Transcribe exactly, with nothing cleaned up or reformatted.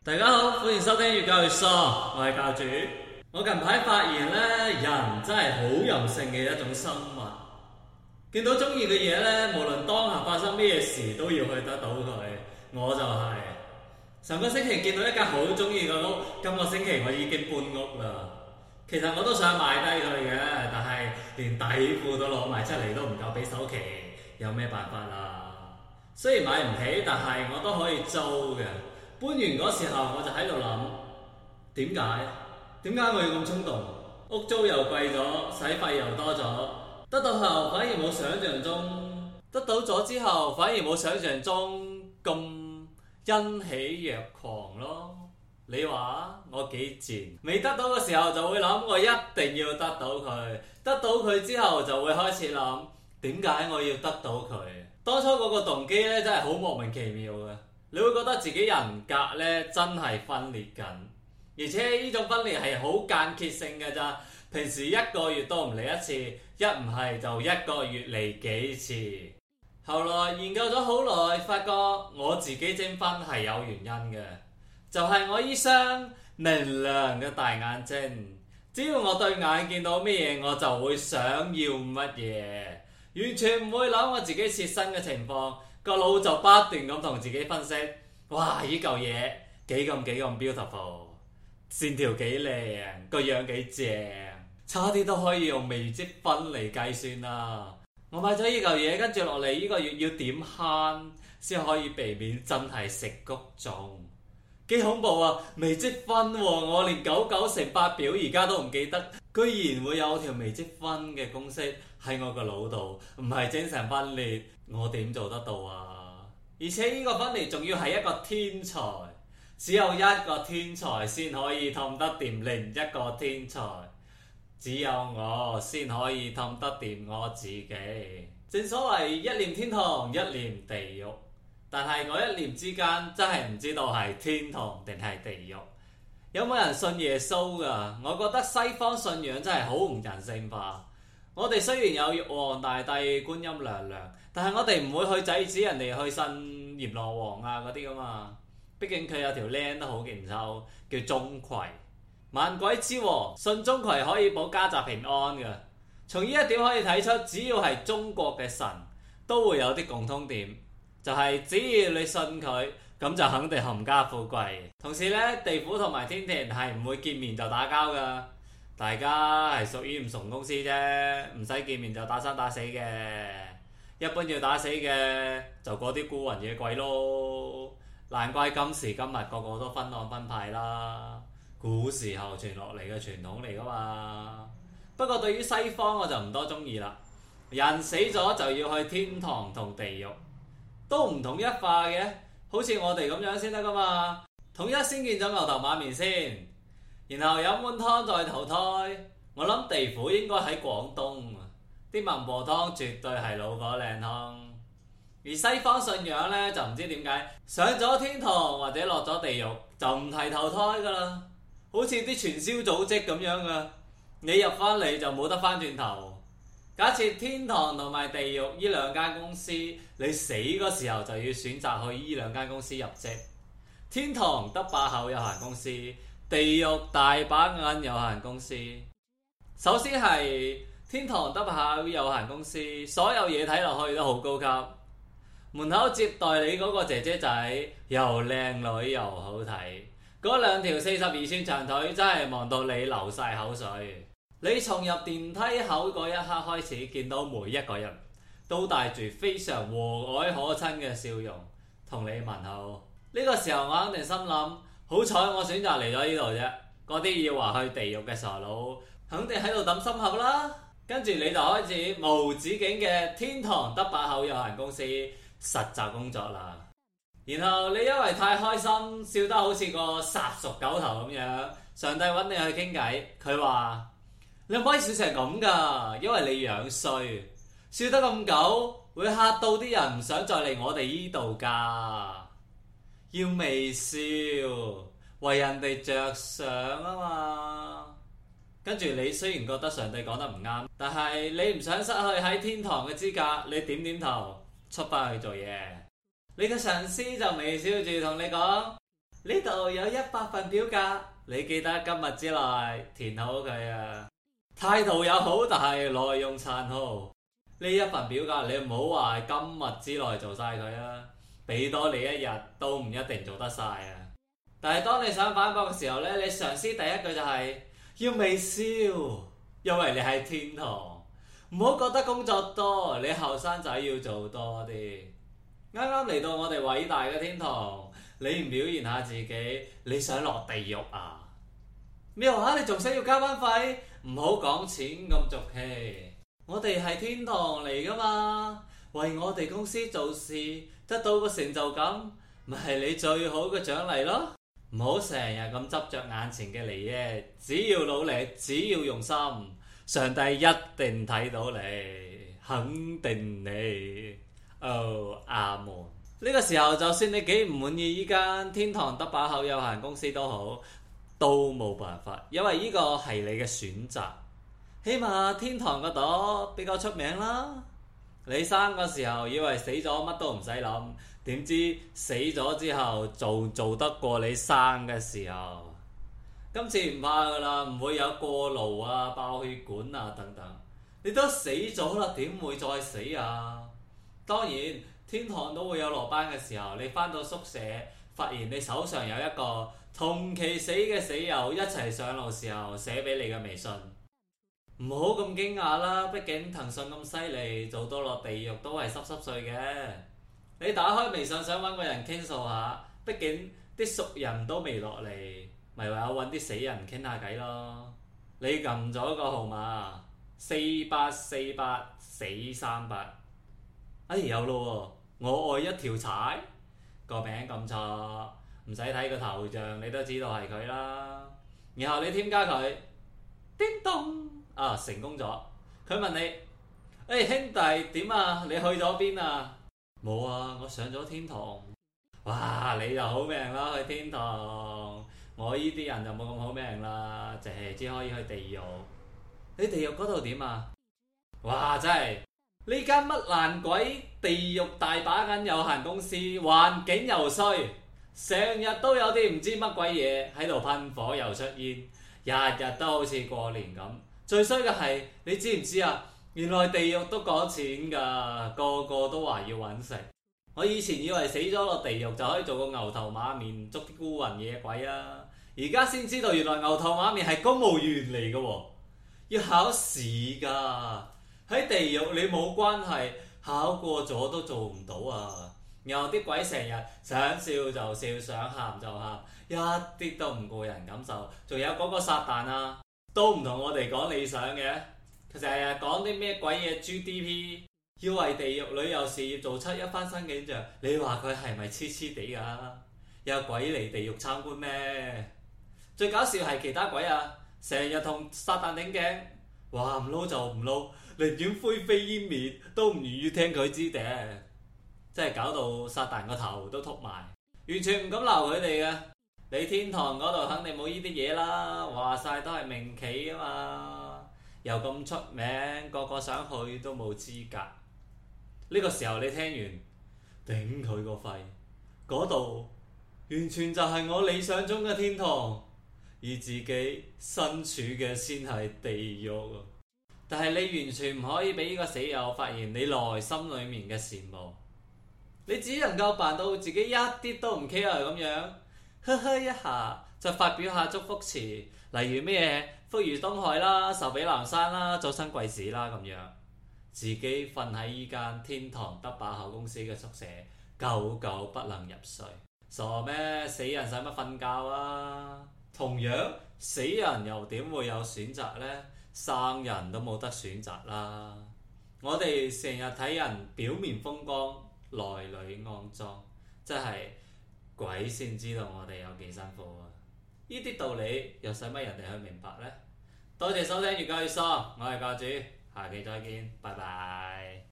大家好，歡迎收聽粵教粵喪，我係教主。我近排發現咧，人真係好任性嘅一種生物。見到中意嘅嘢咧，無論當下發生咩事，都要去得到佢。我就係、是、上個星期見到一間好中意嘅屋，今個星期我已經搬屋啦。其實我都想買低佢嘅，但係連底褲都攞埋出嚟都唔夠俾首期，有咩辦法啊？雖然買唔起，但係我都可以租嘅。搬完嗰時候我就喺度諗，點解？點解我要咁衝動？屋租又貴咗，使費又多咗，得到後反而冇想象中，得到咗之後反而冇想象中咁欣喜若狂咯。你話我幾賤？未得到嘅時候就會諗我一定要得到佢，得到佢之後就會開始諗點解我要得到佢？當初嗰個動機咧真係好莫名其妙嘅。你會覺得自己人格咧真係分裂緊，而且呢種分裂係好間歇性嘅咋。平時一個月都唔嚟一次，一唔係就一個月嚟幾次。後來研究咗好耐，發覺我自己徵婚係有原因嘅，就係我依雙明亮嘅大眼睛。只要我對眼見到咩嘢，我就會想要乜嘢，完全唔會諗我自己切身嘅情況。個腦就不斷咁同自己分析，哇！依嚿嘢幾咁幾咁 beautiful， 線條幾靚，個樣幾正，差啲都可以用微積分嚟計算啦。我買咗依嚿嘢，跟住落嚟依個月要點慳先可以避免真係食谷種，幾恐怖啊！微積分喎，我連九九乘法表而家都唔記得，居然會有條微積分嘅公式喺我個腦度，唔係精神分裂。我點做得到啊？而且呢個分裂仲要係一個天才，只有一個天才先可以氹得掂另一個天才，只有我先可以氹得掂我自己。正所謂一念天堂，一念地獄，但係我一念之間真係唔知道係天堂定係地獄。有冇人信耶穌㗎？我覺得西方信仰真係好唔人性化。我哋雖然有玉皇大帝、觀音娘娘，但係我哋唔會去制止人哋去信閻羅王啊嗰啲噶嘛。畢竟佢有條靚都好勁抽，叫鍾馗，萬鬼之王，信鍾馗可以保家宅平安嘅。從呢一點可以睇出，只要係中國嘅神，都會有啲共通點，就係、是、只要你信佢，咁就肯定冚家富貴。同時呢，地府同埋天庭係唔會見面就打交噶。大家係屬於唔同公司啫，唔使見面就打生打死嘅。一般要打死嘅就嗰啲孤魂野鬼咯。難怪今時今日個個都分黨分派啦，古時候傳落嚟嘅傳統嚟噶嘛。不過對於西方我就唔多中意啦。人死咗就要去天堂同地獄，都唔統一化嘅，好似我哋咁樣先得噶嘛。統一先見咗牛頭馬面先。然後飲碗湯再投胎，我諗地府應該喺廣東，啲孟婆湯絕對係老火靚湯。而西方信仰呢，就唔知點解上咗天堂或者落咗地獄就唔提投胎噶啦，好似啲傳銷組織咁樣噶，你入翻嚟就冇得翻轉頭。假設天堂同埋地獄呢兩間公司，你死嗰時候就要選擇去呢兩間公司入職。天堂得把口有限公司，地獄大把銀有限公司。首先係天堂得把口有限公司，所有嘢睇落去都好高級，門口接待你嗰個姐姐仔又靚女又好睇，嗰兩條四十二寸長腿真係望到你流晒口水。你從入電梯口嗰一刻開始，見到每一個人都帶住非常和藹可親嘅笑容同你問好。呢個時候我肯定心諗，好彩我選擇嚟咗呢度啫，嗰啲要話去地獄嘅傻佬肯定喺度揼心口啦。跟住你就開始無止境嘅天堂得把口有限公司實習工作啦。然後你因為太開心，笑得好似個殺熟狗頭咁樣，上帝揾你去傾偈，佢話你唔可以笑成咁噶，因為你樣衰，笑得咁狗會嚇到啲人唔想再嚟我哋呢度噶。要微笑，為人哋着想啊嘛。跟住你雖然覺得上帝講得唔啱，但係你唔想失去喺天堂嘅資格，你點點頭出翻去做嘢。你嘅上司就微笑住同你講： 呢度有一百份表格，你記得今日之內填好佢啊！態度有好，但係內容殘酷。呢一份表格你唔好話今日之內做晒佢啊，俾多你一日都唔一定做得晒啊！但係當你想反駁嘅時候呢，你上司第一句就係、是、要微笑，因為你係天堂。唔好覺得工作多，你後生仔要做多啲。啱啱嚟到我哋偉大嘅天堂，你唔表現下自己，你想落地獄啊？咩話？你仲想要加班費？唔好講錢咁俗氣。我哋係天堂嚟噶嘛，為我哋公司做事得到個成就感，咪係你最好嘅獎勵咯。唔好成日咁執着眼前嘅利益，只要努力，只要用心，上帝一定睇到你，肯定你。哦，阿門。呢個時候就算你幾唔滿意依間天堂得把口有限公司都好，都冇辦法，因為呢個係你嘅選擇。起碼天堂個朵比較出名啦。你生個時候以為死咗乜都唔使諗，點知死咗之後做做得過你生嘅時候。今次唔怕噶啦，唔會有過勞啊、爆血管啊等等。你都死咗啦，點會再死啊？當然天堂都會有落班嘅時候，你返到宿舍發現你手上有一個同期死嘅死友一齊上路時候寫俾你嘅微信。唔好咁驚訝啦，畢竟騰訊咁犀利，做到落地獄都係濕濕碎嘅。你打開微信想揾個人傾訴下，畢竟啲熟人都未落嚟，咪唯有揾啲死人傾下偈咯。你撳咗個號碼四八四八四三八，哎有咯喎，我愛一條柴，個名咁錯，唔使睇個頭像你都知道係佢啦。然後你添加佢，叮咚。啊，成功咗！佢問你：誒、欸、兄弟點啊？你去咗邊啊？冇啊，我上咗天堂。哇！你就好命啦，去天堂。我依啲人就冇咁好命啦，淨係只可以去地獄。你地獄嗰度點啊？哇！真係呢間乜爛鬼地獄大把緊有限公司，環境又衰，成日都有啲唔知乜鬼嘢喺度噴火又出煙，日日都好似過年咁。最衰嘅係，你知唔知啊？原來地獄都講錢㗎，個個都話要揾食。我以前以為死咗落地獄就可以做個牛頭馬面捉啲孤魂野鬼啊，而家先知道原來牛頭馬面係公務員嚟嘅喎，要考試㗎。喺地獄你冇關係，考過咗都做唔到啊。然後啲鬼成日想笑就笑，想喊就喊，一啲都唔顧人感受。仲有嗰個撒旦啊！都唔同我哋講理想嘅，佢成日講啲咩鬼嘢 G D P， 要為地獄旅遊事業做出一番新景象。你話佢係咪黐黐地㗎？有鬼嚟地獄參觀咩？最搞笑係其他鬼啊，成日同撒旦頂頸，話唔撈就唔撈，寧願灰飛煙滅都唔願意聽佢支笛，真係搞到撒旦個頭都禿埋，完全唔敢鬧佢哋嘅。你天堂嗰度肯定冇呢啲嘢啦，話晒都係名企啊嘛，又咁出名，個個想去都冇資格。呢個時候你聽完，頂佢個肺，嗰度完全就係我理想中嘅天堂，而自己身處嘅先係地獄。但係你完全唔可以俾呢個死友發現你內心裡面嘅羨慕，你只能夠扮到自己一啲都唔 care 咁樣。呵呵一下就發表下祝福詞，例如咩福如東海啦、壽比南山啦、早生貴子啦咁樣，自己瞓喺依間天堂得把口公司嘅宿舍，久久不能入睡。傻咩？死人使乜瞓覺啊？同樣死人又點會有選擇呢？生人都冇得選擇啦。我哋成日睇人表面風光，內裏骯髒，真係〜鬼先知道我哋有幾辛苦啊！呢啲道理又使乜人哋去明白呢？多謝收聽粵教粵喪，我係教主，下期再見，拜拜。